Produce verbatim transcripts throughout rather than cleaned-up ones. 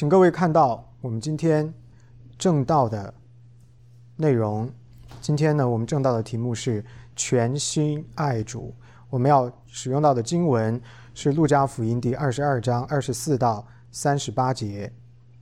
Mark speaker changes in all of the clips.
Speaker 1: 请各位看到我们今天正道的内容。今天呢，我们正道的题目是全心爱主。我们要使用到的经文是路加福音第二十二章二十四到三十八节。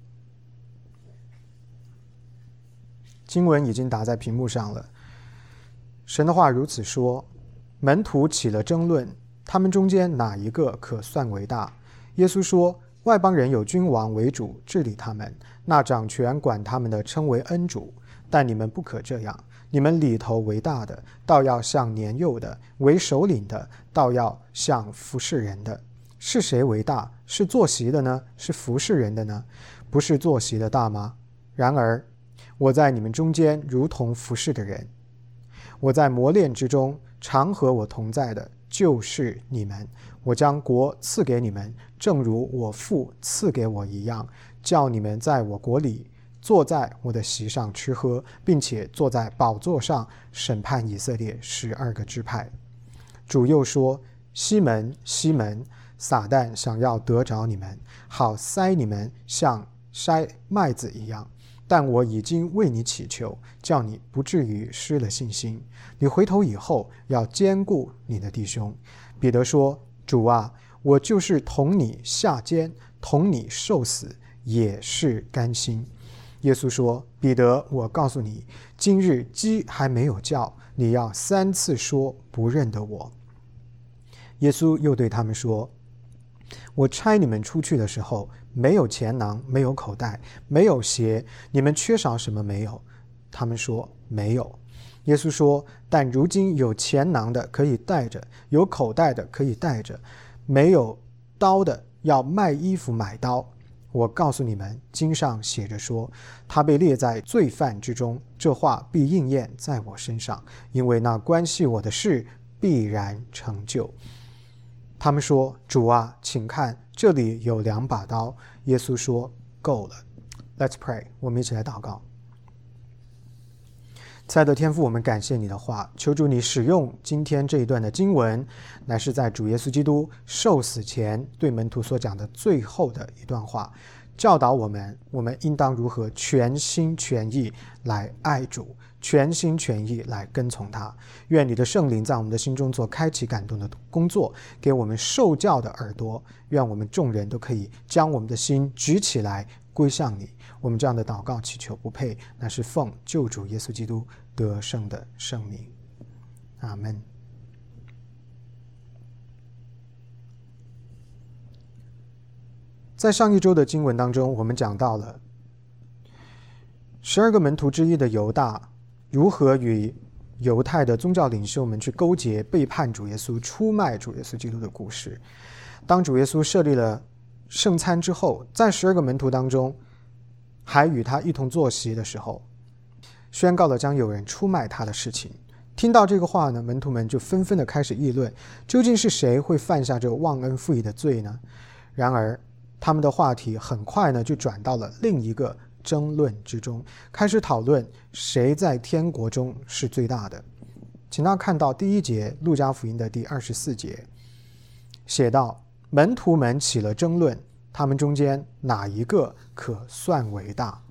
Speaker 1: 经文已经打在屏幕上了。神的话如此说：门徒起了争论，他们中间哪一个可算为大？耶稣说：外邦人有君王为主治理他们，那掌权管他们的称为恩主。但你们不可这样，你们里头为大的，倒要像年幼的；为首领的，倒要像服侍人的。是谁为大？是坐席的呢？是服侍人的呢？不是坐席的大吗？然而我在你们中间如同服侍的人。我在磨练之中，常和我同在的就是你们。我将国赐给你们，正如我父赐给我一样，叫你们在我国里坐在我的席上吃喝，并且坐在宝座上审判以色列十二个支派。主又说：西门，西门，撒旦想要得着你们，好塞你们像筛麦子一样。但我已经为你祈求，叫你不至于失了信心。你回头以后，要兼顾你的弟兄。彼得说：主啊，我就是同你下监，同你受死，也是甘心。耶稣说：彼得，我告诉你，今日鸡还没有叫，你要三次说不认得我。耶稣又对他们说：我差你们出去的时候，没有钱囊，没有口袋，没有鞋，你们缺少什么没有？他们说没有。耶稣说：但如今有钱囊的可以带着，有口袋的可以带着，没有刀的要卖衣服买刀。我告诉你们，经上写着说，他被列在罪犯之中，这话必应验在我身上，因为那关系我的事必然成就。他们说：主啊，请看，这里有两把刀。耶稣说：够了。 Let's pray， 我们一起来祷告。亲爱的天父，我们感谢你的话，求主你使用今天这一段的经文，乃是在主耶稣基督受死前对门徒所讲的最后的一段话，教导我们我们应当如何全心全意来爱主，全心全意来跟从他。愿你的圣灵在我们的心中做开启感动的工作，给我们受教的耳朵，愿我们众人都可以将我们的心举起来归向你。我们这样的祷告祈求不配，那是奉救主耶稣基督得胜的圣名。阿们。在上一周的经文当中，我们讲到了十二个门徒之一的犹大如何与犹太的宗教领袖们去勾结，背叛主耶稣，出卖主耶稣基督的故事。当主耶稣设立了圣餐之后，在十二个门徒当中还与他一同坐席的时候，宣告了将有人出卖他的事情。听到这个话呢，门徒们就纷纷的开始议论，究竟是谁会犯下这个忘恩负义的罪呢？然而他们的话题很快呢就转到了另一个争论之中，开始讨论谁在天国中是最大的。请大家看到第一节，路加福音的第二十四节写道：门徒们起了争论，他们中间哪一个可算为大？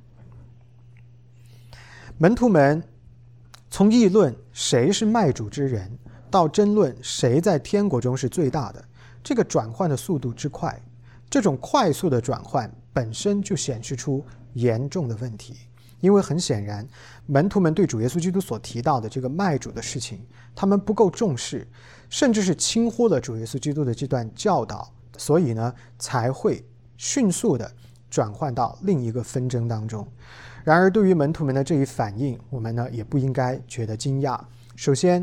Speaker 1: 门徒们从议论谁是卖主之人，到争论谁在天国中是最大的，这个转换的速度之快，这种快速的转换本身就显示出严重的问题。因为很显然，门徒们对主耶稣基督所提到的这个卖主的事情，他们不够重视，甚至是轻忽了主耶稣基督的这段教导，所以呢，才会迅速的转换到另一个纷争当中。然而对于门徒们的这一反应，我们呢也不应该觉得惊讶。首先，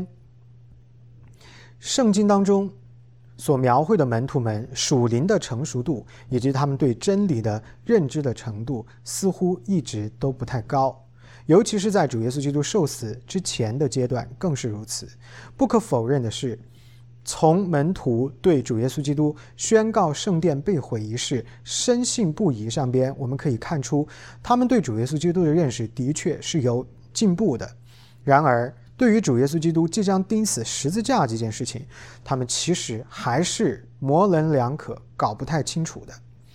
Speaker 1: 圣经当中所描绘的门徒们属灵的成熟度以及他们对真理的认知的程度似乎一直都不太高，尤其是在主耶稣基督受死之前的阶段更是如此。不可否认的是，从门徒对主耶稣基督宣告圣殿被毁一事深信不疑上边，我们可以看出他们对主耶稣基督的认识的确是有进步的。然而对于主耶稣基督即将钉死十字架这件事情，他们其实还是模棱两可，搞不太清楚的。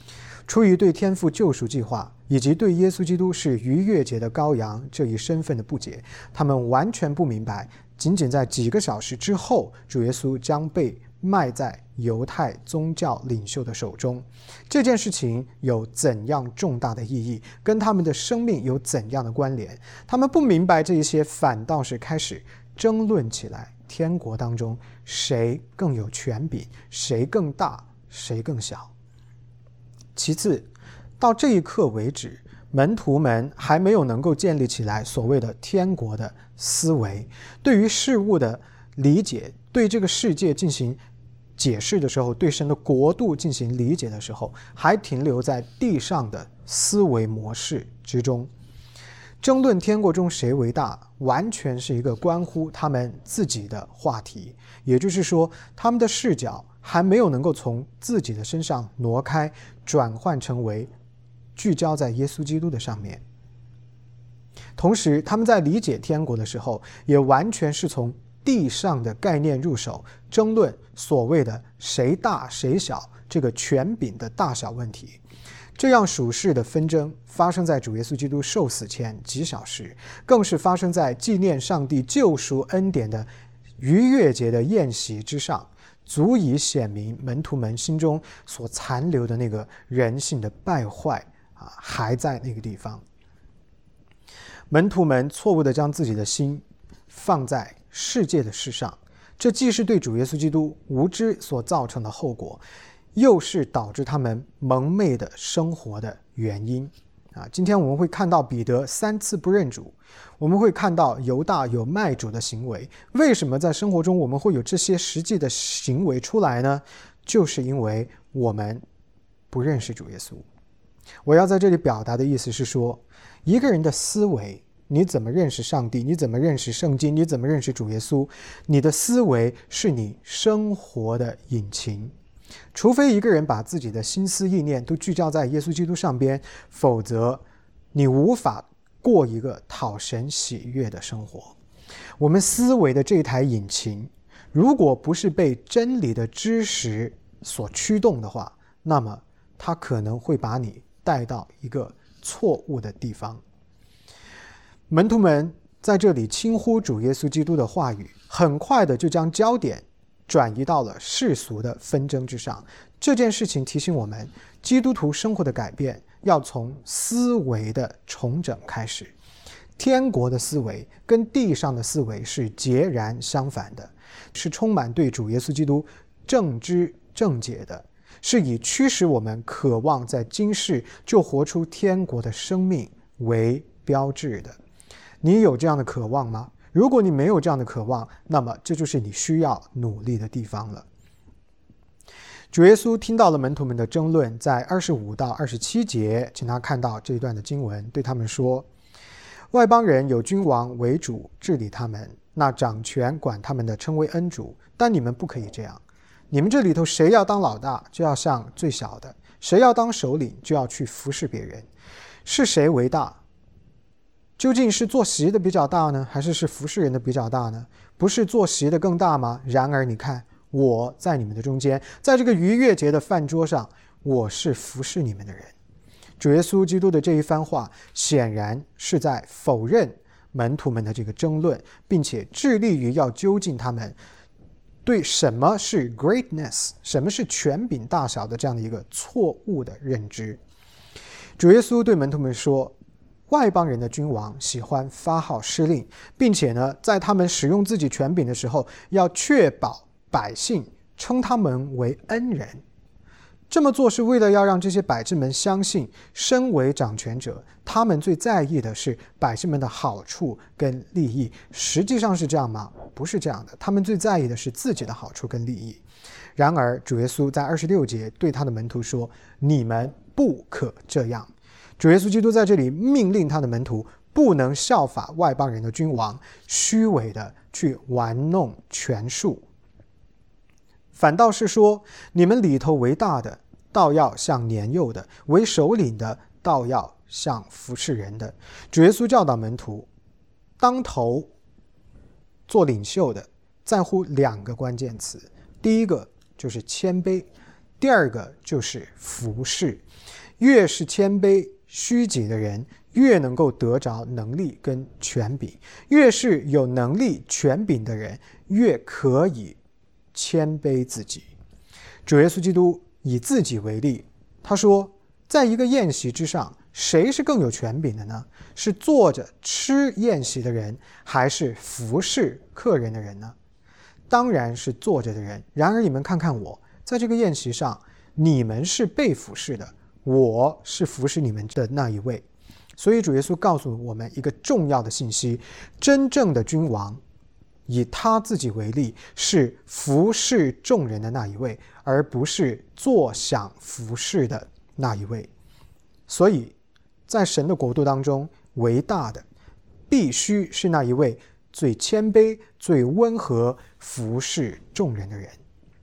Speaker 1: 出于对天父救赎计划以及对耶稣基督是逾越节的羔羊这一身份的不解，他们完全不明白，仅仅在几个小时之后，主耶稣将被卖在犹太宗教领袖的手中。这件事情有怎样重大的意义，跟他们的生命有怎样的关联？他们不明白这一些，反倒是开始争论起来，天国当中谁更有权柄，谁更大，谁更小。其次，到这一刻为止，门徒们还没有能够建立起来所谓的天国的思维，对于事物的理解，对这个世界进行解释的时候，对神的国度进行理解的时候，还停留在地上的思维模式之中。争论天国中谁为大，完全是一个关乎他们自己的话题，也就是说，他们的视角还没有能够从自己的身上挪开，转换成为聚焦在耶稣基督的上面。同时，他们在理解天国的时候，也完全是从地上的概念入手，争论所谓的谁大谁小这个权柄的大小问题。这样属世的纷争发生在主耶稣基督受死前几小时，更是发生在纪念上帝救赎恩典的逾越节的宴席之上，足以显明门徒们心中所残留的那个人性的败坏啊，还在那个地方。门徒们错误地将自己的心放在世界的事上，这既是对主耶稣基督无知所造成的后果，又是导致他们蒙昧的生活的原因啊。今天我们会看到彼得三次不认主，我们会看到犹大有卖主的行为。为什么在生活中我们会有这些实际的行为出来呢？就是因为我们不认识主耶稣。我要在这里表达的意思是说，一个人的思维，你怎么认识上帝，你怎么认识圣经，你怎么认识主耶稣，你的思维是你生活的引擎。除非一个人把自己的心思意念都聚焦在耶稣基督上边，否则你无法过一个讨神喜悦的生活。我们思维的这台引擎，如果不是被真理的知识所驱动的话，那么它可能会把你带到一个错误的地方。门徒们在这里轻忽主耶稣基督的话语，很快的就将焦点转移到了世俗的纷争之上。这件事情提醒我们，基督徒生活的改变要从思维的重整开始。天国的思维跟地上的思维是截然相反的，是充满对主耶稣基督正知正解的，是以驱使我们渴望在今世就活出天国的生命为标志的。你有这样的渴望吗？如果你没有这样的渴望，那么这就是你需要努力的地方了。主耶稣听到了门徒们的争论，在二十五到二十七节，请他看到这一段的经文，对他们说：外邦人有君王为主治理他们，那掌权管他们的称为恩主，但你们不可以这样。你们这里头谁要当老大，就要像最小的；谁要当首领，就要去服侍别人。是谁为大？究竟是坐席的比较大呢，还是是服侍人的比较大呢？不是坐席的更大吗？然而你看，我在你们的中间，在这个逾越节的饭桌上，我是服侍你们的人。主耶稣基督的这一番话，显然是在否认门徒们的这个争论，并且致力于要纠正他们对什么是 greatness， 什么是权柄大小的这样的一个错误的认知。主耶稣对门徒们说，外邦人的君王喜欢发号施令，并且呢，在他们使用自己权柄的时候，要确保百姓称他们为恩人。这么做是为了要让这些百姓们相信，身为掌权者，他们最在意的是百姓们的好处跟利益。实际上是这样吗？不是这样的，他们最在意的是自己的好处跟利益。然而主耶稣在二十六节对他的门徒说，你们不可这样。主耶稣基督在这里命令他的门徒不能效法外邦人的君王，虚伪的去玩弄权术，反倒是说，你们里头为大的，倒要像年幼的；为首领的，倒要像服侍人的。主耶稣教导门徒，当头做领袖的在乎两个关键词，第一个就是谦卑，第二个就是服侍。 越是谦卑虚己的人，越能够得着能力跟权柄；越是有能力权柄的人，越可以谦卑自己。主耶稣基督以自己为例，他说，在一个宴席之上，谁是更有权柄的呢？是坐着吃宴席的人，还是服侍客人的人呢？当然是坐着的人。然而你们看看我，在这个宴席上，你们是被服侍的，我是服侍你们的那一位。所以主耶稣告诉我们一个重要的信息，真正的君王以他自己为例，是服侍众人的那一位，而不是坐享服侍的那一位。所以在神的国度当中，为大的必须是那一位最谦卑、最温和、服侍众人的人。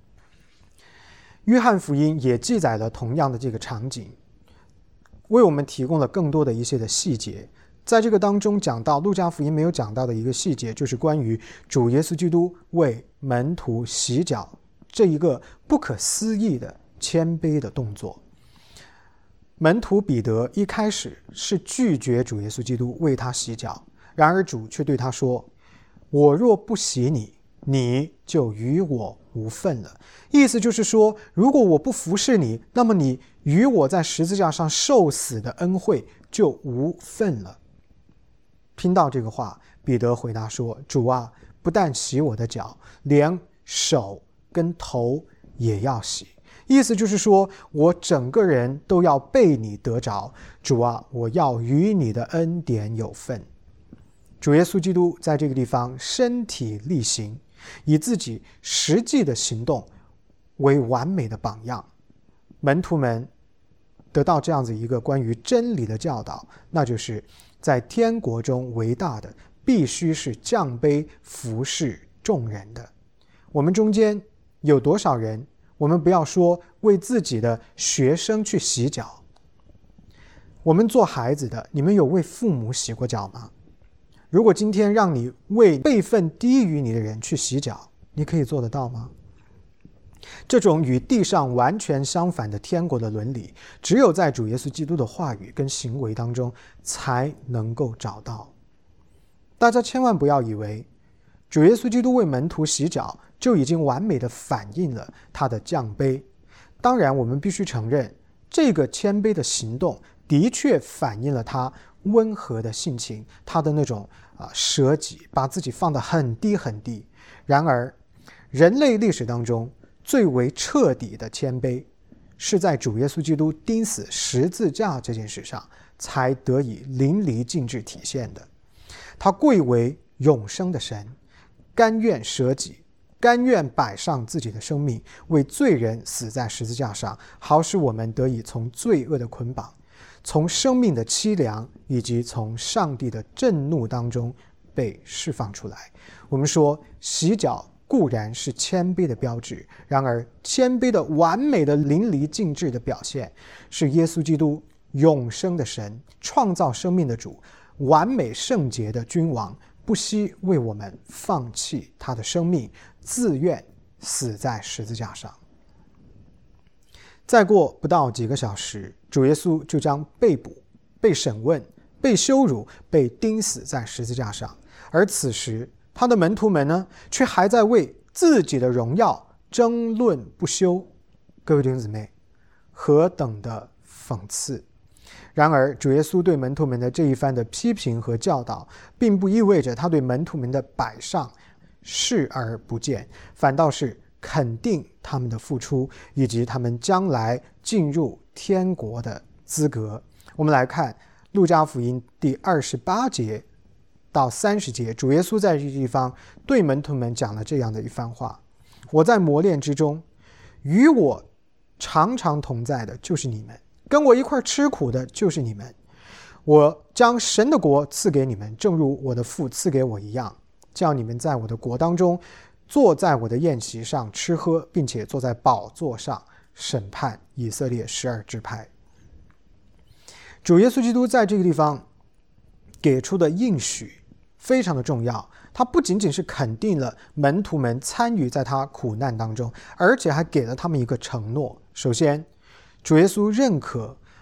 Speaker 1: 约翰福音也记载了同样的这个场景，为我们提供了更多的一些的细节。在这个当中讲到路加福音没有讲到的一个细节，就是关于主耶稣基督为门徒洗脚这一个不可思议的谦卑的动作。门徒彼得一开始是拒绝主耶稣基督为他洗脚，然而主却对他说，我若不洗你，你就与我无份了。意思就是说，如果我不服侍你，那么你与我在十字架上受死的恩惠就无份了。听到这个话，彼得回答说，主啊，不但洗我的脚，连手跟头也要洗。意思就是说，我整个人都要被你得着。主啊，我要与你的恩典有份。主耶稣基督在这个地方身体力行，以自己实际的行动为完美的榜样。门徒们得到这样子一个关于真理的教导，那就是在天国中为大的必须是降卑服侍众人的。我们中间有多少人，我们不要说为自己的学生去洗脚，我们做孩子的，你们有为父母洗过脚吗？如果今天让你为辈分低于你的人去洗脚，你可以做得到吗？这种与地上完全相反的天国的伦理，只有在主耶稣基督的话语跟行为当中才能够找到。大家千万不要以为主耶稣基督为门徒洗脚就已经完美的反映了他的降卑。当然我们必须承认，这个谦卑的行动的确反映了他温和的性情，他的那种、啊、舍己，把自己放得很低很低。然而人类历史当中最为彻底的谦卑，是在主耶稣基督钉死十字架这件事上才得以淋漓尽致体现的。他贵为永生的神，甘愿舍己，甘愿摆上自己的生命，为罪人死在十字架上，好使我们得以从罪恶的捆绑，从生命的凄凉，以及从上帝的震怒当中被释放出来。我们说洗脚固然是谦卑的标志，然而谦卑的完美的淋漓尽致的表现，是耶稣基督永生的神，创造生命的主，完美圣洁的君王，不惜为我们放弃他的生命，自愿死在十字架上。再过不到几个小时，主耶稣就将被捕、被审问、被羞辱、被钉死在十字架上。而此时他的门徒们呢，却还在为自己的荣耀争论不休。各位弟兄姊妹，何等的讽刺！然而主耶稣对门徒们的这一番的批评和教导，并不意味着他对门徒们的摆上视而不见，反倒是肯定他们的付出，以及他们将来进入天国的资格。我们来看路加福音第二十八节到三十节，主耶稣在这个地方对门徒们讲了这样的一番话：我在磨练之中，与我常常同在的就是你们，跟我一块吃苦的就是你们。我将神的国赐给你们，正如我的父赐给我一样，叫你们在我的国当中，坐在我的宴席上吃喝，并且坐在宝座上审判以色列十二支派。主耶稣基督在这个地方给出的应许非常的重要，他不仅仅是肯定了门徒们参与在他苦难当中，而且还给了他们一个承诺。首先，主耶稣认可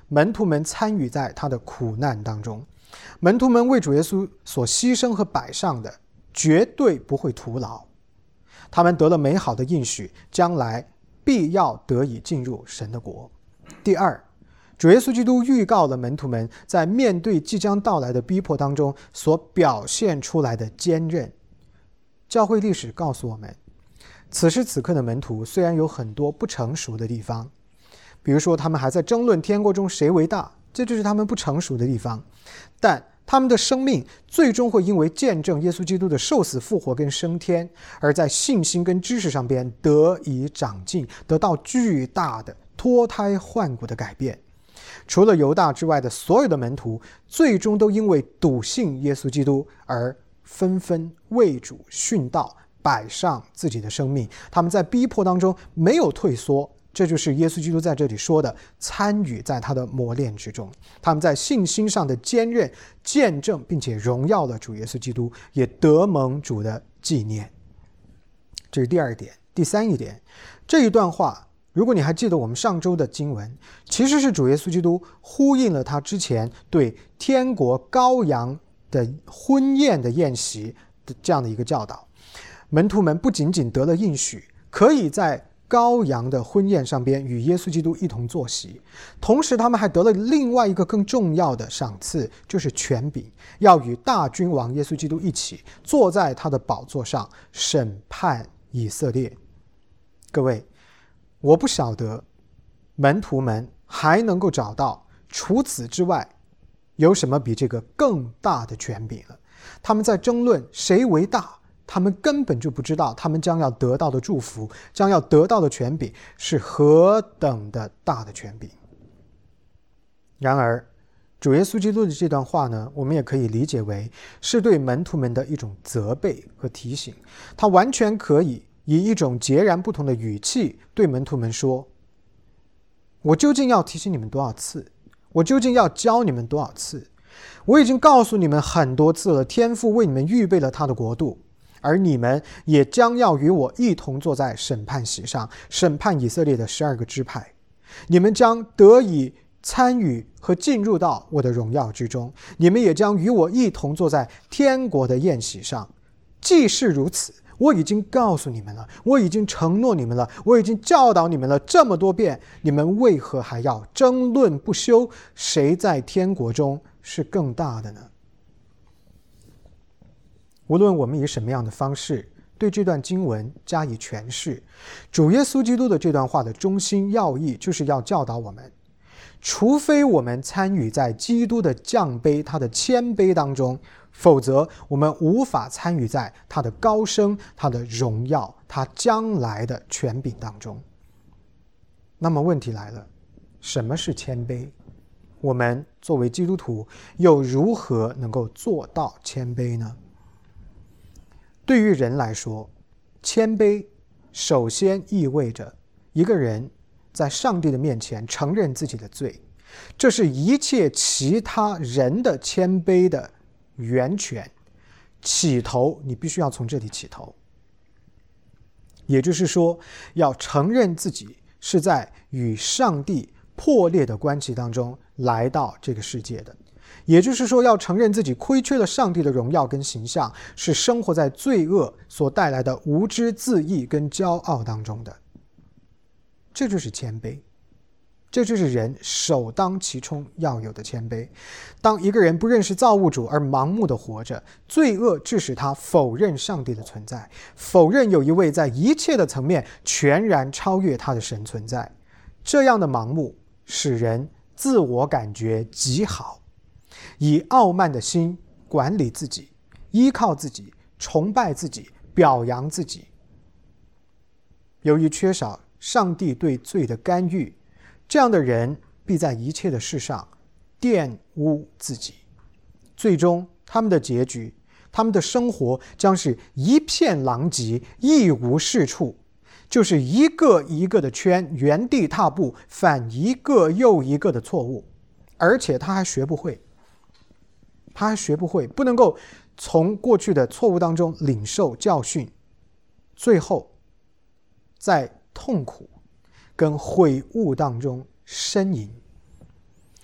Speaker 1: 门徒们参与在他的苦难当中。门徒们为主耶稣所牺牲和摆上的绝对不会徒劳，他们得了美好的应许，将来必要得以进入神的国。第二，主耶稣基督预告了门徒们在面对即将到来的逼迫当中所表现出来的坚韧。教会历史告诉我们，此时此刻的门徒虽然有很多不成熟的地方，比如说他们还在争论天国中谁为大，这就是他们不成熟的地方，但他们的生命最终会因为见证耶稣基督的受死复活跟升天，而在信心跟知识上边得以长进，得到巨大的脱胎换骨的改变。除了犹大之外的所有的门徒，最终都因为笃信耶稣基督而纷纷为主殉道，摆上自己的生命。他们在逼迫当中没有退缩，这就是耶稣基督在这里说的参与在他的磨练之中。他们在信心上的坚韧，见证并且荣耀了主耶稣基督，也得蒙主的纪念。这是第二点。第三一点，这一段话如果你还记得我们上周的经文，其实是主耶稣基督呼应了他之前对天国羔羊的婚宴的宴席的这样的一个教导。门徒们不仅仅得了应许，可以在羔羊的婚宴上边与耶稣基督一同坐席，同时他们还得了另外一个更重要的赏赐，就是权柄，要与大君王耶稣基督一起坐在他的宝座上审判以色列。各位，我不晓得门徒们还能够找到除此之外有什么比这个更大的权柄了。他们在争论谁为大，他们根本就不知道他们将要得到的祝福，将要得到的权柄是何等的大的权柄。然而主耶稣基督的这段话呢，我们也可以理解为是对门徒们的一种责备和提醒。他完全可以以一种截然不同的语气对门徒们说，我究竟要提醒你们多少次？我究竟要教你们多少次？我已经告诉你们很多次了，天父为你们预备了他的国度，而你们也将要与我一同坐在审判席上，审判以色列的十二个支派。你们将得以参与和进入到我的荣耀之中，你们也将与我一同坐在天国的宴席上。既是如此，我已经告诉你们了，我已经承诺你们了，我已经教导你们了这么多遍，你们为何还要争论不休？谁在天国中是更大的呢？无论我们以什么样的方式对这段经文加以诠释，主耶稣基督的这段话的中心要义就是要教导我们，除非我们参与在基督的降卑，他的谦卑当中，否则我们无法参与在他的高升，他的荣耀，他将来的权柄当中。那么问题来了，什么是谦卑？我们作为基督徒又如何能够做到谦卑呢？对于人来说，谦卑首先意味着一个人在上帝的面前承认自己的罪，这是一切其他人的谦卑的源泉，起头你必须要从这里起头。也就是说，要承认自己是在与上帝破裂的关系当中来到这个世界的，也就是说，要承认自己亏缺了上帝的荣耀跟形象，是生活在罪恶所带来的无知自义跟骄傲当中的。这就是谦卑，这就是人首当其冲要有的谦卑。当一个人不认识造物主而盲目的活着，罪恶致使他否认上帝的存在，否认有一位在一切的层面全然超越他的神存在。这样的盲目使人自我感觉极好，以傲慢的心管理自己，依靠自己，崇拜自己，表扬自己。由于缺少上帝对罪的干预，这样的人必在一切的事上玷污自己，最终他们的结局，他们的生活将是一片狼藉，一无是处，就是一个一个的圈，原地踏步，犯一个又一个的错误，而且他还学不会，他还学不会，不能够从过去的错误当中领受教训，最后在痛苦跟悔悟当中呻吟。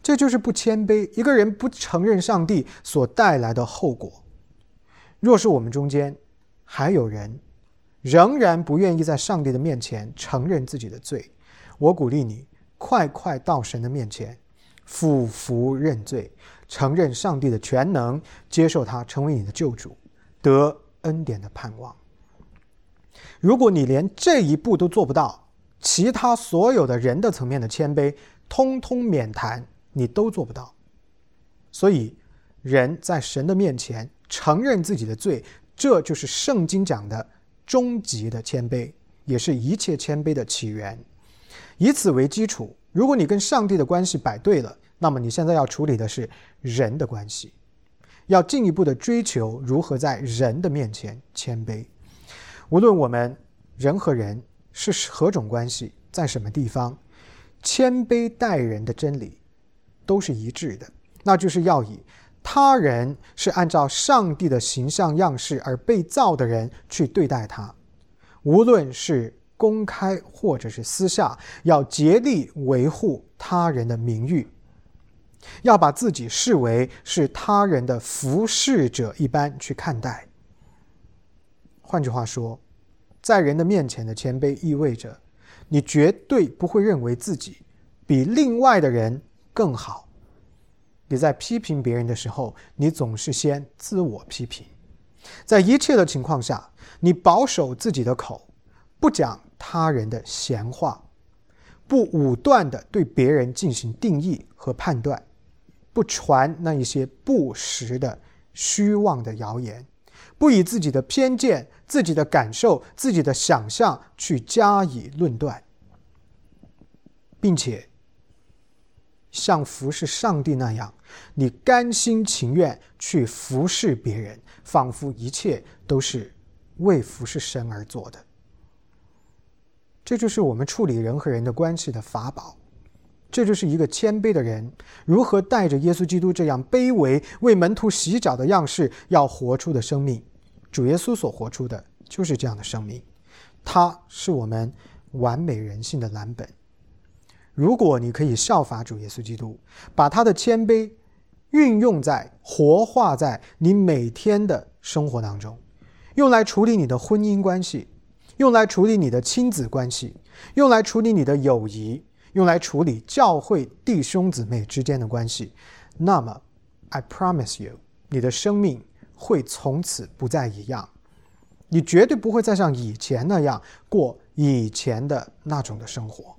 Speaker 1: 这就是不谦卑，一个人不承认上帝所带来的后果。若是我们中间还有人仍然不愿意在上帝的面前承认自己的罪，我鼓励你快快到神的面前，俯伏认罪，承认上帝的全能，接受他成为你的救主，得恩典的盼望。如果你连这一步都做不到，其他所有的人的层面的谦卑通通免谈，你都做不到。所以人在神的面前承认自己的罪，这就是圣经讲的终极的谦卑，也是一切谦卑的起源。以此为基础，如果你跟上帝的关系摆对了，那么你现在要处理的是人的关系，要进一步的追求如何在人的面前谦卑。无论我们人和人是何种关系，在什么地方，谦卑待人的真理都是一致的，那就是要以他人是按照上帝的形象样式而被造的人去对待他，无论是公开或者是私下，要竭力维护他人的名誉，要把自己视为是他人的服侍者一般去看待。换句话说，在人的面前的谦卑意味着你绝对不会认为自己比另外的人更好。你在批评别人的时候，你总是先自我批评。在一切的情况下，你保守自己的口，不讲他人的闲话，不武断地对别人进行定义和判断，不传那一些不实的虚妄的谣言，不以自己的偏见、自己的感受、自己的想象去加以论断，并且像服侍上帝那样，你甘心情愿去服侍别人，仿佛一切都是为服侍神而做的。这就是我们处理人和人的关系的法宝，这就是一个谦卑的人如何带着耶稣基督这样卑微为门徒洗脚的样式要活出的生命。主耶稣所活出的就是这样的生命，他是我们完美人性的蓝本。如果你可以效法主耶稣基督，把他的谦卑运用在活化在你每天的生活当中，用来处理你的婚姻关系，用来处理你的亲子关系，用来处理你的友谊，用来处理教会弟兄姊妹之间的关系，那么 I promise you， 你的生命会从此不再一样，你绝对不会再像以前那样过以前的那种的生活。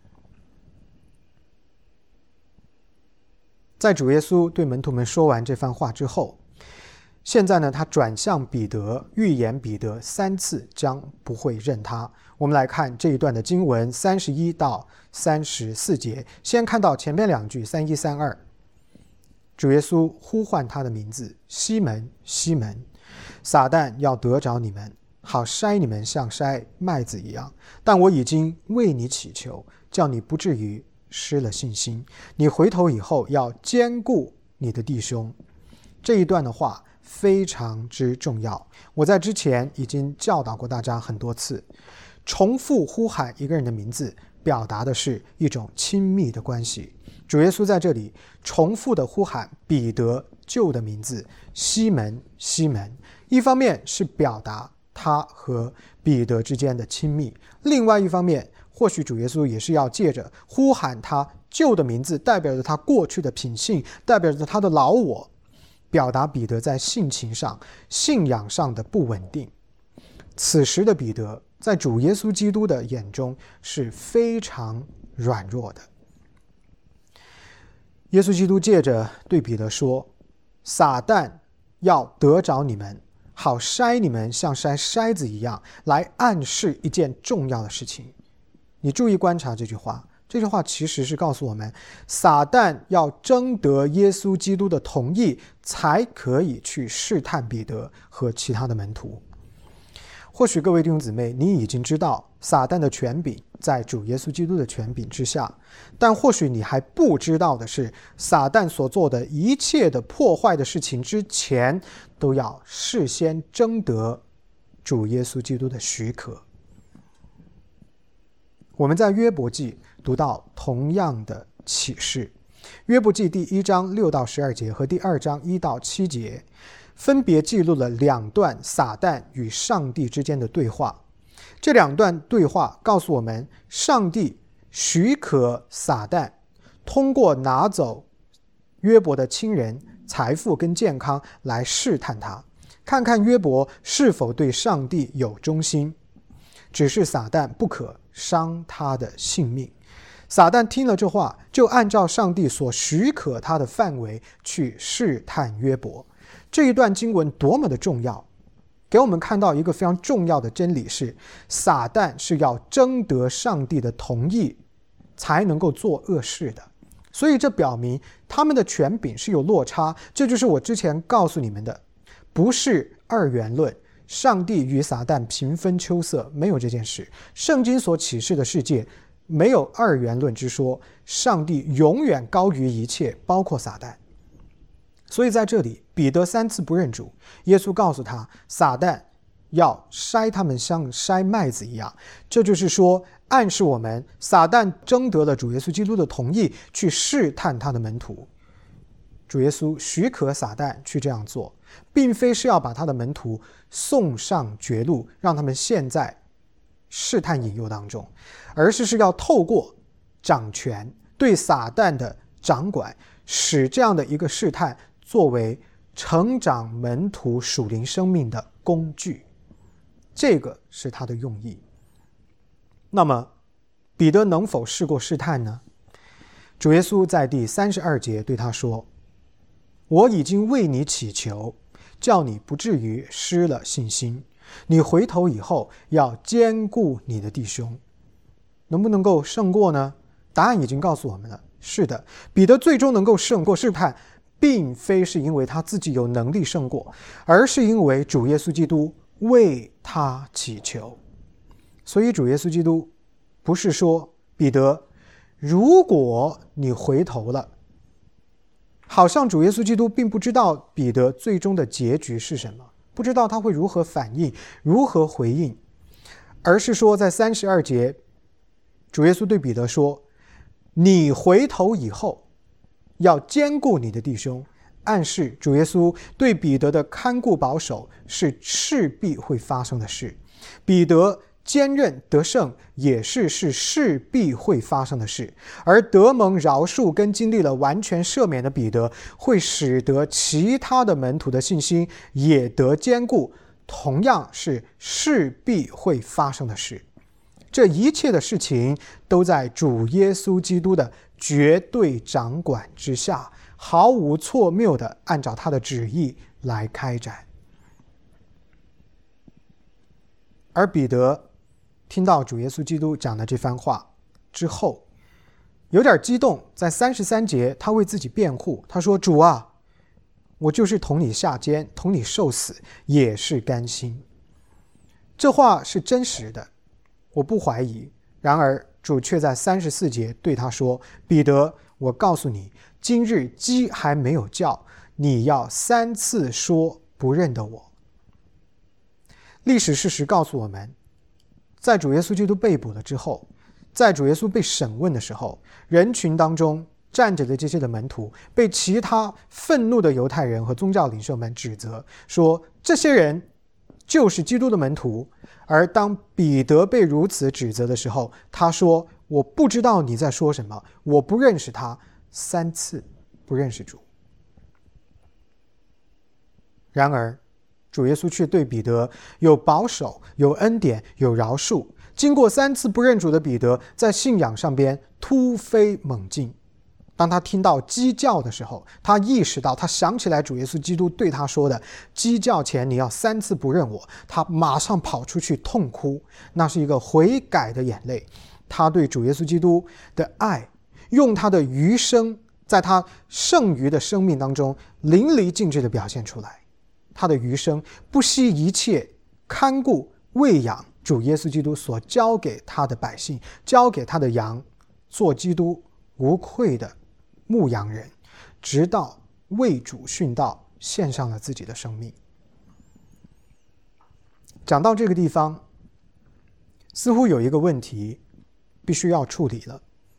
Speaker 1: 在主耶稣对门徒们说完这番话之后，现在呢，他转向彼得，预言彼得三次将不会认他。我们来看这一段的经文三十一到三十四节，先看到前面两句三一三二。主耶稣呼唤他的名字，西门，西门，撒旦要得着你们，好筛你们像筛麦子一样，但我已经为你祈求，叫你不至于失了信心。你回头以后要兼顾你的弟兄。这一段的话非常之重要，我在之前已经教导过大家很多次。重复呼喊一个人的名字，表达的是一种亲密的关系。主耶稣在这里重复的呼喊彼得旧的名字，西门，西门，一方面是表达他和彼得之间的亲密，另外一方面或许主耶稣也是要借着呼喊他旧的名字，代表着他过去的品性，代表着他的老我，表达彼得在性情上、信仰上的不稳定。此时的彼得在主耶稣基督的眼中是非常软弱的。耶稣基督借着对彼得说，撒旦要得着你们，好筛你们像筛筛子一样，来暗示一件重要的事情。你注意观察这句话，这句话其实是告诉我们，撒旦要征得耶稣基督的同意，才可以去试探彼得和其他的门徒。或许各位弟兄姊妹，你已经知道撒旦的权柄在主耶稣基督的权柄之下，但或许你还不知道的是，撒旦所做的一切的破坏的事情之前，都要事先征得主耶稣基督的许可。我们在约伯记读到同样的启示， 约伯记第一章六到十二节和第二章一到七节分别记录了两段撒旦与上帝之间的对话。这两段对话告诉我们，上帝许可撒旦通过拿走约伯的亲人、财富跟健康来试探他，看看约伯是否对上帝有忠心。只是撒旦不可伤他的性命。撒旦听了这话，就按照上帝所许可他的范围去试探约伯。这一段经文多么的重要，给我们看到一个非常重要的真理是，撒旦是要征得上帝的同意才能够做恶事的。所以这表明他们的权柄是有落差，这就是我之前告诉你们的，不是二元论，上帝与撒旦平分秋色，没有这件事。圣经所启示的世界没有二元论之说，上帝永远高于一切，包括撒旦。所以在这里，彼得三次不认主，耶稣告诉他，撒旦要筛他们像筛麦子一样。这就是说，暗示我们撒旦征得了主耶稣基督的同意，去试探他的门徒。主耶稣许可撒旦去这样做，并非是要把他的门徒送上绝路，让他们陷在试探引诱当中，而是是要透过掌权对撒旦的掌管，使这样的一个试探作为成长门徒属灵生命的工具。这个是他的用意。那么彼得能否试过试探呢？主耶稣在第三十二节对他说，我已经为你祈求，叫你不至于失了信心，你回头以后要兼顾你的弟兄。能不能够胜过呢？答案已经告诉我们了，是的，彼得最终能够胜过试探，并非是因为他自己有能力胜过，而是因为主耶稣基督为他祈求。所以主耶稣基督不是说，彼得，如果你回头了，好像主耶稣基督并不知道彼得最终的结局是什么，不知道他会如何反应，如何回应，而是说在三十二节，主耶稣对彼得说，你回头以后要兼顾你的弟兄，暗示主耶稣对彼得的看顾保守是势必会发生的事，彼得坚韧得胜也是是势必会发生的事，而得蒙饶恕跟经历了完全赦免的彼得，会使得其他的门徒的信心也得坚固，同样是势必会发生的事。这一切的事情都在主耶稣基督的绝对掌管之下，毫无错谬的按照他的旨意来开展。而彼得听到主耶稣基督讲的这番话之后，有点激动，在三十三节他为自己辩护，他说，主啊，我就是同你下监，同你受死，也是甘心。这话是真实的，我不怀疑。然而主却在三十四节对他说，彼得，我告诉你，今日鸡还没有叫，你要三次说不认得我。历史事实告诉我们，在主耶稣基督被捕了之后，在主耶稣被审问的时候，人群当中站着的这些的门徒被其他愤怒的犹太人和宗教领袖们指责，说这些人就是基督的门徒。而当彼得被如此指责的时候，他说，我不知道你在说什么，我不认识他，三次不认识主。然而主耶稣却对彼得有保守，有恩典，有饶恕。经过三次不认主的彼得，在信仰上边突飞猛进。当他听到鸡叫的时候，他意识到，他想起来主耶稣基督对他说的，鸡叫前你要三次不认我，他马上跑出去痛哭，那是一个悔改的眼泪。他对主耶稣基督的爱，用他的余生，在他剩余的生命当中淋漓尽致地表现出来。他的余生不惜一切看顾喂养主耶稣基督所交给他的百姓，交给他的羊，做基督无愧的牧羊人，直到为主殉道，献上了自己的生命。讲到这个地方，似乎有一个问题必须要处理了，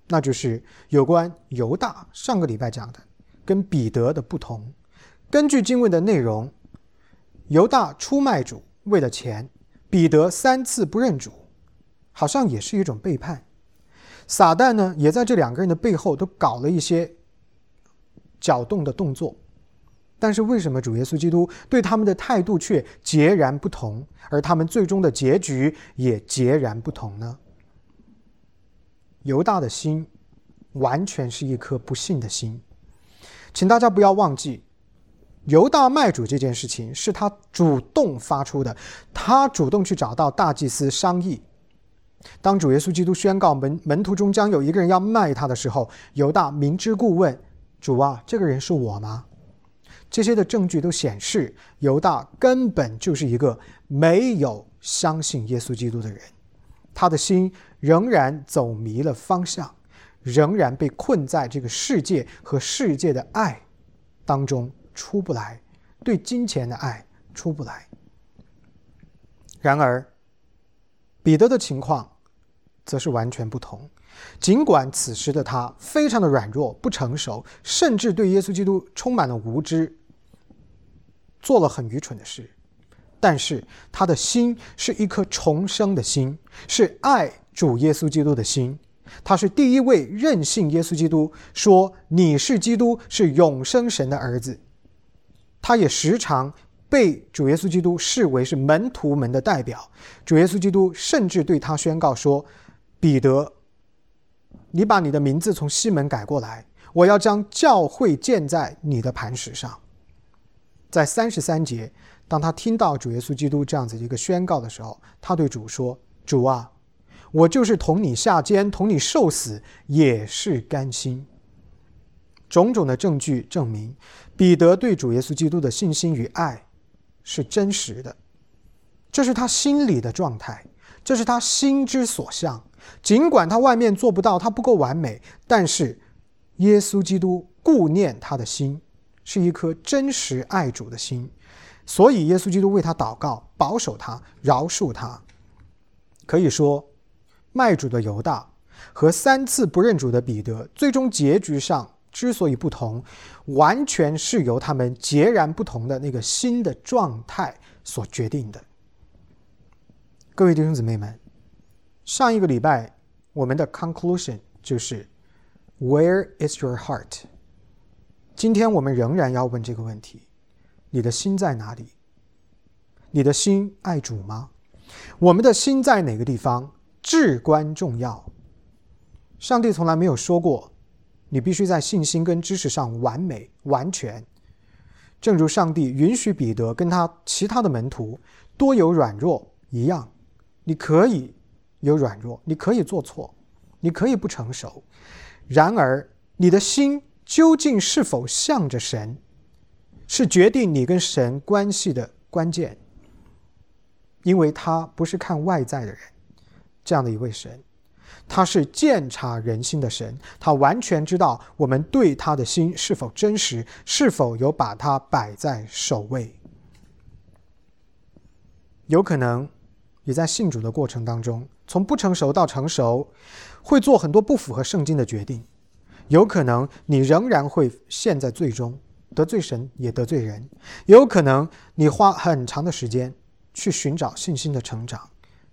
Speaker 1: 那就是有关犹大上个礼拜讲的跟彼得的不同。根据经文的内容，犹大出卖主为了钱，彼得三次不认主，好像也是一种背叛。撒旦呢，也在这两个人的背后都搞了一些搅动的动作，但是为什么主耶稣基督对他们的态度却截然不同，而他们最终的结局也截然不同呢？犹大的心完全是一颗不信的心。请大家不要忘记，犹大卖主这件事情是他主动发出的，他主动去找到大祭司商议。当主耶稣基督宣告 门, 门徒中将有一个人要卖他的时候，犹大明知故问，主啊，这个人是我吗？这些的证据都显示，犹大根本就是一个没有相信耶稣基督的人，他的心仍然走迷了方向，仍然被困在这个世界和世界的爱当中出不来，对金钱的爱出不来。然而彼得的情况则是完全不同。尽管此时的他非常的软弱不成熟，甚至对耶稣基督充满了无知，做了很愚蠢的事，但是他的心是一颗重生的心，是爱主耶稣基督的心。他是第一位认信耶稣基督，说你是基督，是永生神的儿子。他也时常被主耶稣基督视为是门徒们的代表。主耶稣基督甚至对他宣告说，彼得，你把你的名字从西门改过来，我要将教会建在你的磐石上。在三十三节，当他听到主耶稣基督这样子一个宣告的时候，他对主说，主啊，我就是同你下监，同你受死，也是甘心。种种的证据证明，彼得对主耶稣基督的信心与爱是真实的，这是他心里的状态，这是他心之所向。尽管他外面做不到，他不够完美，但是耶稣基督顾念他的心，是一颗真实爱主的心，所以耶稣基督为他祷告，保守他，饶恕他。可以说，卖主的犹大和三次不认主的彼得，最终结局上之所以不同，完全是由他们截然不同的那个新的状态所决定的。各位弟兄姊妹们，上一个礼拜我们的 conclusion 就是 Where is your heart？ 今天我们仍然要问这个问题，你的心在哪里？你的心爱主吗？我们的心在哪个地方至关重要。上帝从来没有说过你必须在信心跟知识上完美完全，正如上帝允许彼得跟他其他的门徒多有软弱一样，你可以有软弱，你可以做错，你可以不成熟，然而你的心究竟是否向着神，是决定你跟神关系的关键。因为他不是看外在的人，这样的一位神，他是鉴察人心的神，他完全知道我们对他的心是否真实，是否有把他摆在首位。有可能你在信主的过程当中，从不成熟到成熟，会做很多不符合圣经的决定，有可能你仍然会陷在罪中，得罪神也得罪人，有可能你花很长的时间去寻找信心的成长，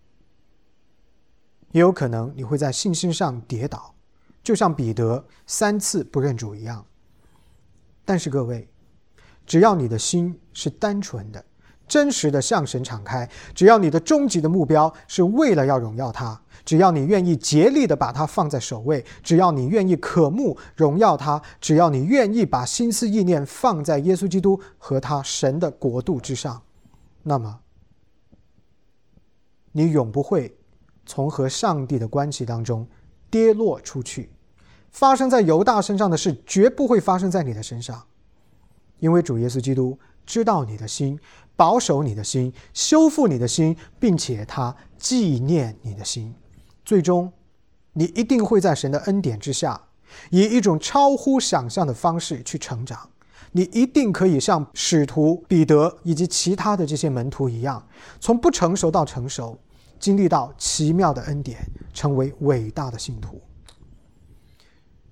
Speaker 1: 也有可能你会在信心上跌倒，就像彼得三次不认主一样。但是各位，只要你的心是单纯的，真实的向神敞开，只要你的终极的目标是为了要荣耀他，只要你愿意竭力的把他放在首位，只要你愿意渴慕荣耀他，只要你愿意把心思意念放在耶稣基督和他神的国度之上，那么你永不会从和上帝的关系当中跌落出去。发生在犹大身上的事绝不会发生在你的身上，因为主耶稣基督知道你的心，保守你的心，修复你的心，并且他纪念你的心。最终你一定会在神的恩典之下，以一种超乎想象的方式去成长。你一定可以像使徒彼得以及其他的这些门徒一样，从不成熟到成熟，经历到奇妙的恩典，成为伟大的信徒。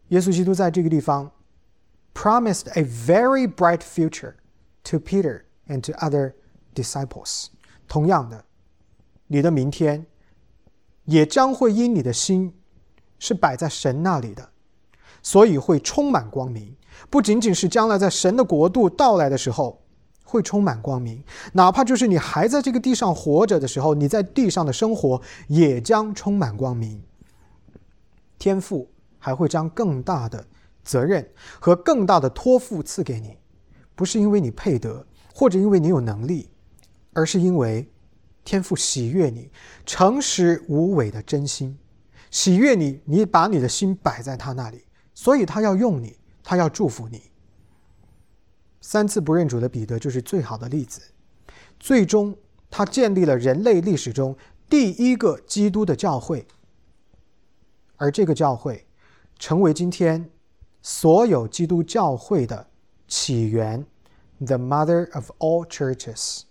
Speaker 1: 耶稣基督在这个地方 promised a very bright future to Peter and to other disciples。 同样的，你的明天也将会因你的心是摆在神那里的，所以会充满光明。不仅仅是将来在神的国度到来的时候会充满光明，哪怕就是你还在这个地上活着的时候，你在地上的生活也将充满光明。天父还会将更大的责任和更大的托付赐给你，不是因为你配得，或者因为你有能力，而是因为天父喜悦你诚实无伪的真心，喜悦你，你把你的心摆在他那里，所以他要用你，他要祝福你。三次不认主的彼得就是最好的例子，最终他建立了人类历史中第一个基督的教会，而这个教会成为今天所有基督教会的起源， the mother of all churches。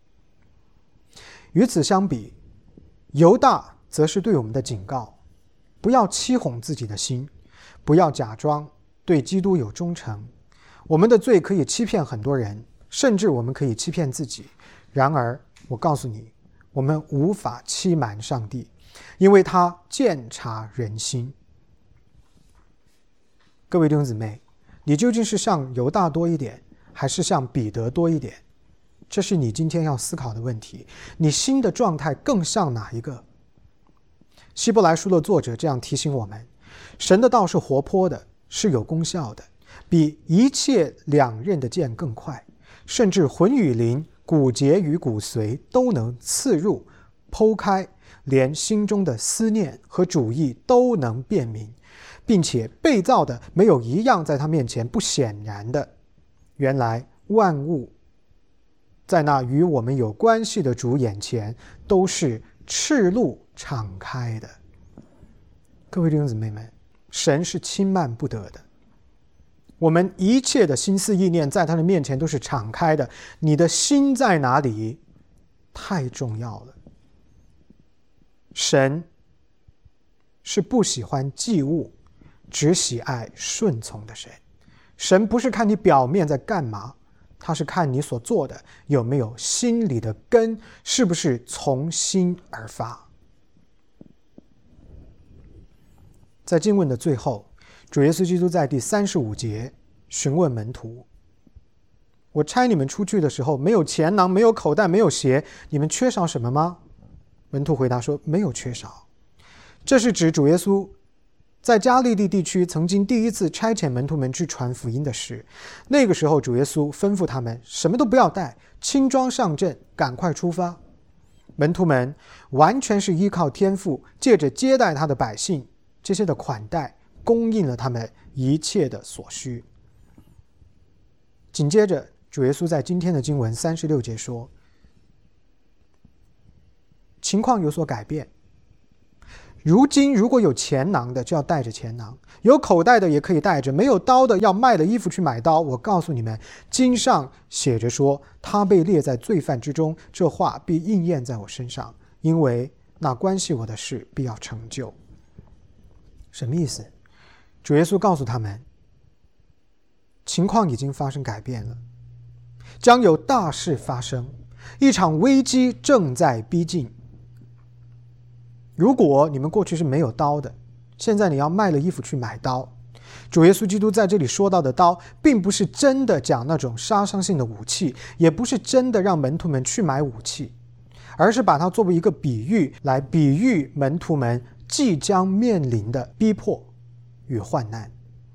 Speaker 1: 与此相比，犹大则是对我们的警告，不要欺哄自己的心，不要假装对基督有忠诚。我们的罪可以欺骗很多人，甚至我们可以欺骗自己，然而我告诉你，我们无法欺瞒上帝，因为他鉴察人心。各位弟兄姊妹，你究竟是像犹大多一点，还是像彼得多一点？这是你今天要思考的问题。你心的状态更像哪一个？希伯来书的作者这样提醒我们，神的道是活泼的，是有功效的，比一切两刃的剑更快，甚至魂与灵、骨节与骨髓都能刺入剖开，连心中的思念和主意都能辨明，并且被造的没有一样在他面前不显然的。原来万物在那与我们有关系的主眼前都是赤露敞开的。各位弟兄姊妹们，神是轻慢不得的，我们一切的心思意念在他的面前都是敞开的。你的心在哪里太重要了。神是不喜欢祭物，只喜爱顺从的神。神不是看你表面在干嘛，他是看你所做的有没有心里的根，是不是从心而发。在经文的最后，主耶稣基督在第三十五节询问门徒，我差你们出去的时候，没有钱囊，没有口袋，没有鞋，你们缺少什么吗？门徒回答说，没有缺少。这是指主耶稣在加利利地区曾经第一次差遣门徒们去传福音的事。那个时候主耶稣吩咐他们什么都不要带，轻装上阵，赶快出发。门徒们完全是依靠天父，借着接待他的百姓，这些的款待供应了他们一切的所需。紧接着主耶稣在今天的经文三十六节说，情况有所改变，如今如果有钱囊的就要带着钱囊，有口袋的也可以带着，没有刀的要卖了衣服去买刀。我告诉你们，经上写着说，他被列在罪犯之中，这话必应验在我身上，因为那关系我的事必要成就。什么意思？主耶稣告诉他们，情况已经发生改变了，将有大事发生，一场危机正在逼近。如果你们过去是没有刀的，现在你要卖了衣服去买刀。主耶稣基督在这里说到的刀，并不是真的讲那种杀伤性的武器，也不是真的让门徒们去买武器，而是把它作为一个比喻，来比喻门徒们即将面临的逼迫与患难。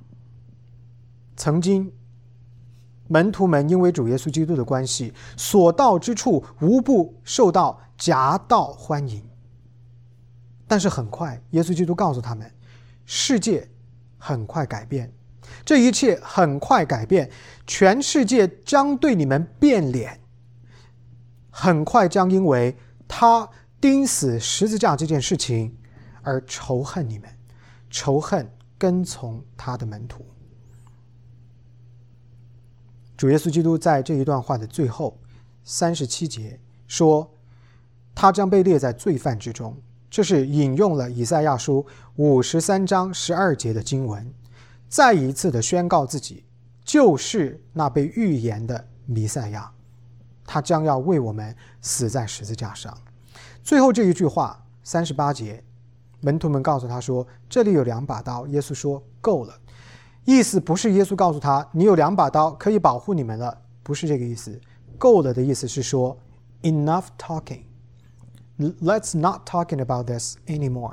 Speaker 1: 曾经门徒们因为主耶稣基督的关系，所到之处无不受到夹道欢迎。但是很快耶稣基督告诉他们，世界很快改变，这一切很快改变，全世界将对你们变脸，很快将因为他钉死十字架这件事情而仇恨你们，仇恨跟从他的门徒。主耶稣基督在这一段话的最后三十七节说，他将被列在罪犯之中。这是引用了以赛亚书五十三章十二节的经文。 再一次的宣告自己就是那被预言的弥赛亚，他将要为我们死在十字架上。最后这一句话三十八节，门徒们告诉他说，这里有两把刀。耶稣说够了。意思不是耶稣告诉他你有两把刀可以保护你们了，不是这个意思。够了的意思是说 enough talking, let's not talking about this anymore.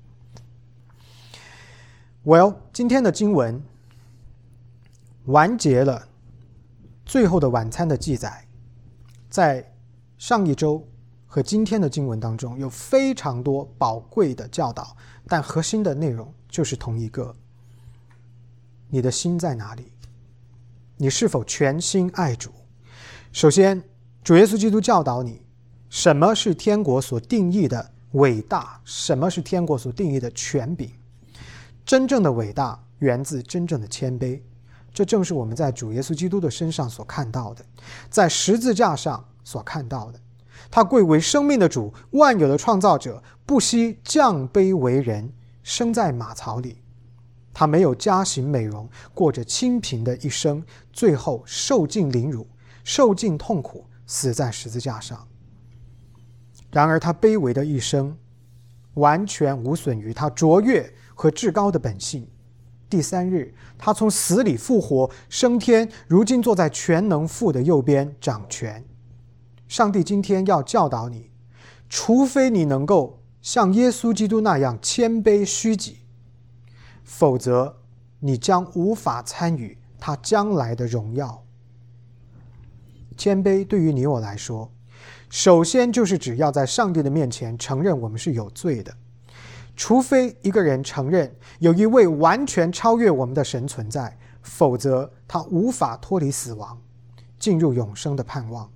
Speaker 1: Well, 今天的经文完结了最后的晚餐的记载。在上一周和今天的经文当中有非常多宝贵的教导，但核心的内容就是同一个：你的心在哪里？你是否全心爱主？首先，主耶稣基督教导你什么是天国所定义的伟大，什么是天国所定义的权柄。真正的伟大源自真正的谦卑，这正是我们在主耶稣基督的身上所看到的，在十字架上所看到的。他贵为生命的主，万有的创造者，不惜降卑为人，生在马槽里。他没有加行美容，过着清贫的一生，最后受尽凌辱，受尽痛苦，死在十字架上。然而他卑微的一生完全无损于他卓越和至高的本性。第三日，他从死里复活，升天，如今坐在全能父的右边掌权。上帝今天要教导你，除非你能够像耶稣基督那样谦卑虚己，否则你将无法参与他将来的荣耀。谦卑对于你我来说，首先就是只要在上帝的面前承认我们是有罪的。除非一个人承认有一位完全超越我们的神存在，否则他无法脱离死亡，进入永生的盼望。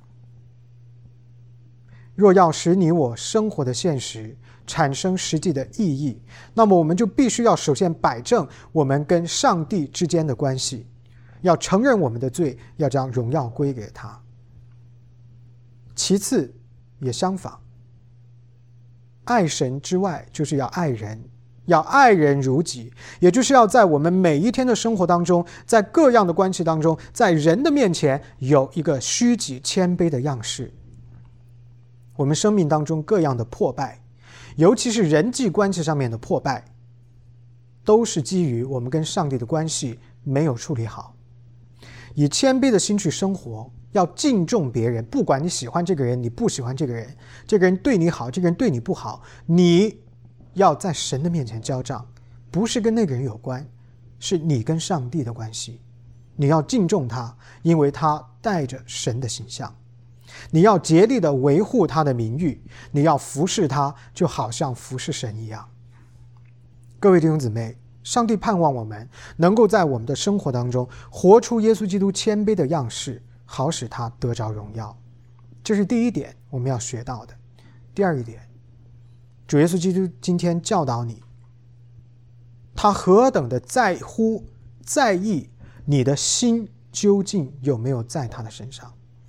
Speaker 1: 若要使你我生活的现实产生实际的意义，那么我们就必须要首先摆正我们跟上帝之间的关系，要承认我们的罪，要将荣耀归给他。其次也相仿，爱神之外就是要爱人，要爱人如己，也就是要在我们每一天的生活当中，在各样的关系当中，在人的面前有一个虚己谦卑的样式。我们生命当中各样的破败，尤其是人际关系上面的破败，都是基于我们跟上帝的关系没有处理好。以谦卑的心去生活，要敬重别人，不管你喜欢这个人，你不喜欢这个人，这个人对你好，这个人对你不好，你要在神的面前交账，不是跟那个人有关，是你跟上帝的关系。你要敬重他，因为他带着神的形象。你要竭力的维护他的名誉，你要服侍他，就好像服侍神一样。各位弟兄姊妹，上帝盼望我们能够在我们的生活当中活出耶稣基督谦卑的样式，好使他得着荣耀。这是第一点我们要学到的。第二一点，主耶稣基督今天教导你，他何等的在乎在意你的心究竟有没有在他的身上。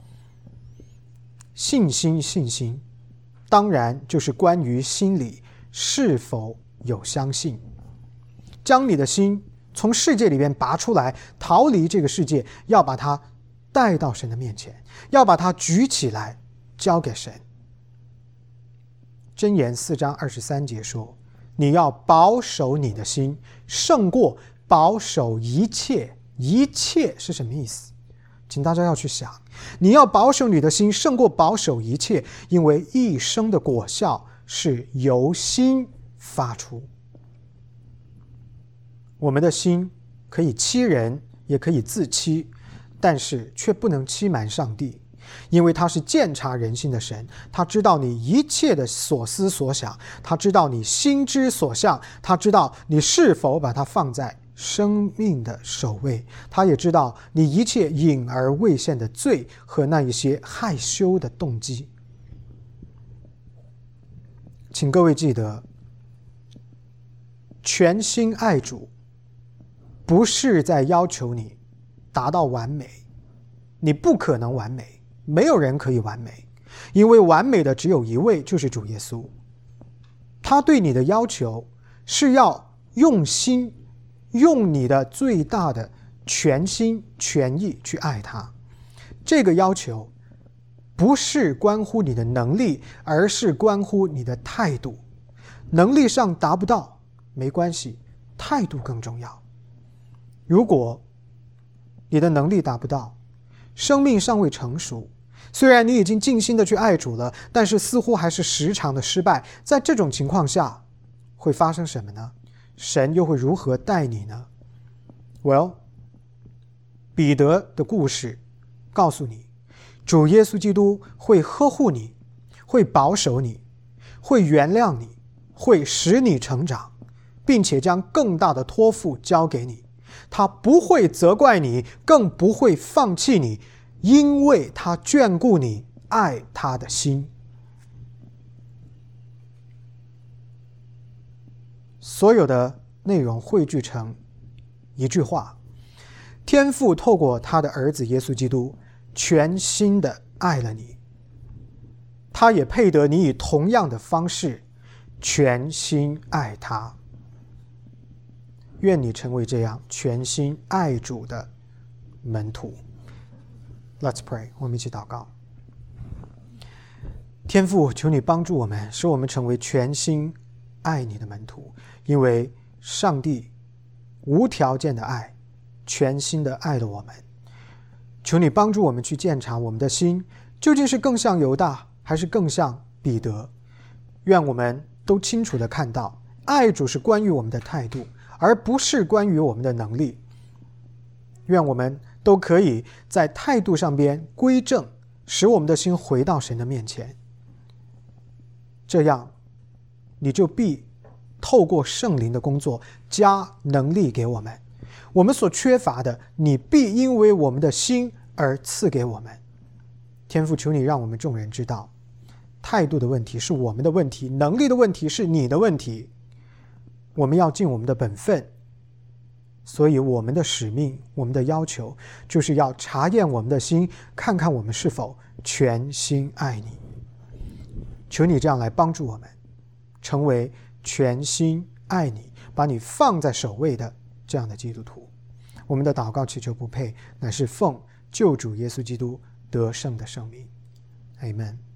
Speaker 1: 信心信心当然就是关于心里是否有相信。将你的心从世界里面拔出来，逃离这个世界，要把它带到神的面前，要把它举起来交给神。箴言四章二十三节说，你要保守你的心，胜过保守一切。一切是什么意思？请大家要去想，你要保守你的心，胜过保守一切，因为一生的果效是由心发出。我们的心可以欺人，也可以自欺，但是却不能欺瞒上帝，因为他是鉴察人心的神，他知道你一切的所思所想，他知道你心之所向，他知道你是否把它放在生命的首位，他也知道你一切隐而未现的罪和那一些害羞的动机。请各位记得，全心爱主不是在要求你达到完美，你不可能完美，没有人可以完美，因为完美的只有一位，就是主耶稣。他对你的要求是要用心用你的最大的全心全意去爱他。这个要求不是关乎你的能力，而是关乎你的态度。能力上达不到没关系，态度更重要。如果你的能力达不到，生命尚未成熟，虽然你已经尽心的去爱主了，但是似乎还是时常的失败，在这种情况下会发生什么呢？神又会如何待你呢？ Well， 彼得的故事告诉你，主耶稣基督会呵护你，会保守你，会原谅你，会使你成长，并且将更大的托付交给你。他不会责怪你，更不会放弃你，因为他眷顾你爱他的心。所有的内容汇聚成一句话：天父透过他的儿子耶稣基督全心的爱了你，他也配得你以同样的方式全心爱他。愿你成为这样全心爱主的门徒。 Let's pray， 我们一起祷告。天父，求你帮助我们，使我们成为全心爱你的门徒，因为上帝无条件的爱，全心的爱了我们。求你帮助我们去鉴察我们的心，究竟是更像犹大，还是更像彼得。愿我们都清楚地看到，爱主是关于我们的态度，而不是关于我们的能力。愿我们都可以在态度上边归正，使我们的心回到神的面前。这样你就必透过圣灵的工作加能力给我们，我们所缺乏的，你必因为我们的心而赐给我们。天父，求你让我们众人知道，态度的问题是我们的问题，能力的问题是你的问题。我们要尽我们的本分，所以我们的使命，我们的要求，就是要查验我们的心，看看我们是否全心爱你。求你这样来帮助我们，成为全心爱你，把你放在首位的这样的基督徒。我们的祷告祈求不配，乃是奉救主耶稣基督得胜的圣名。 Amen。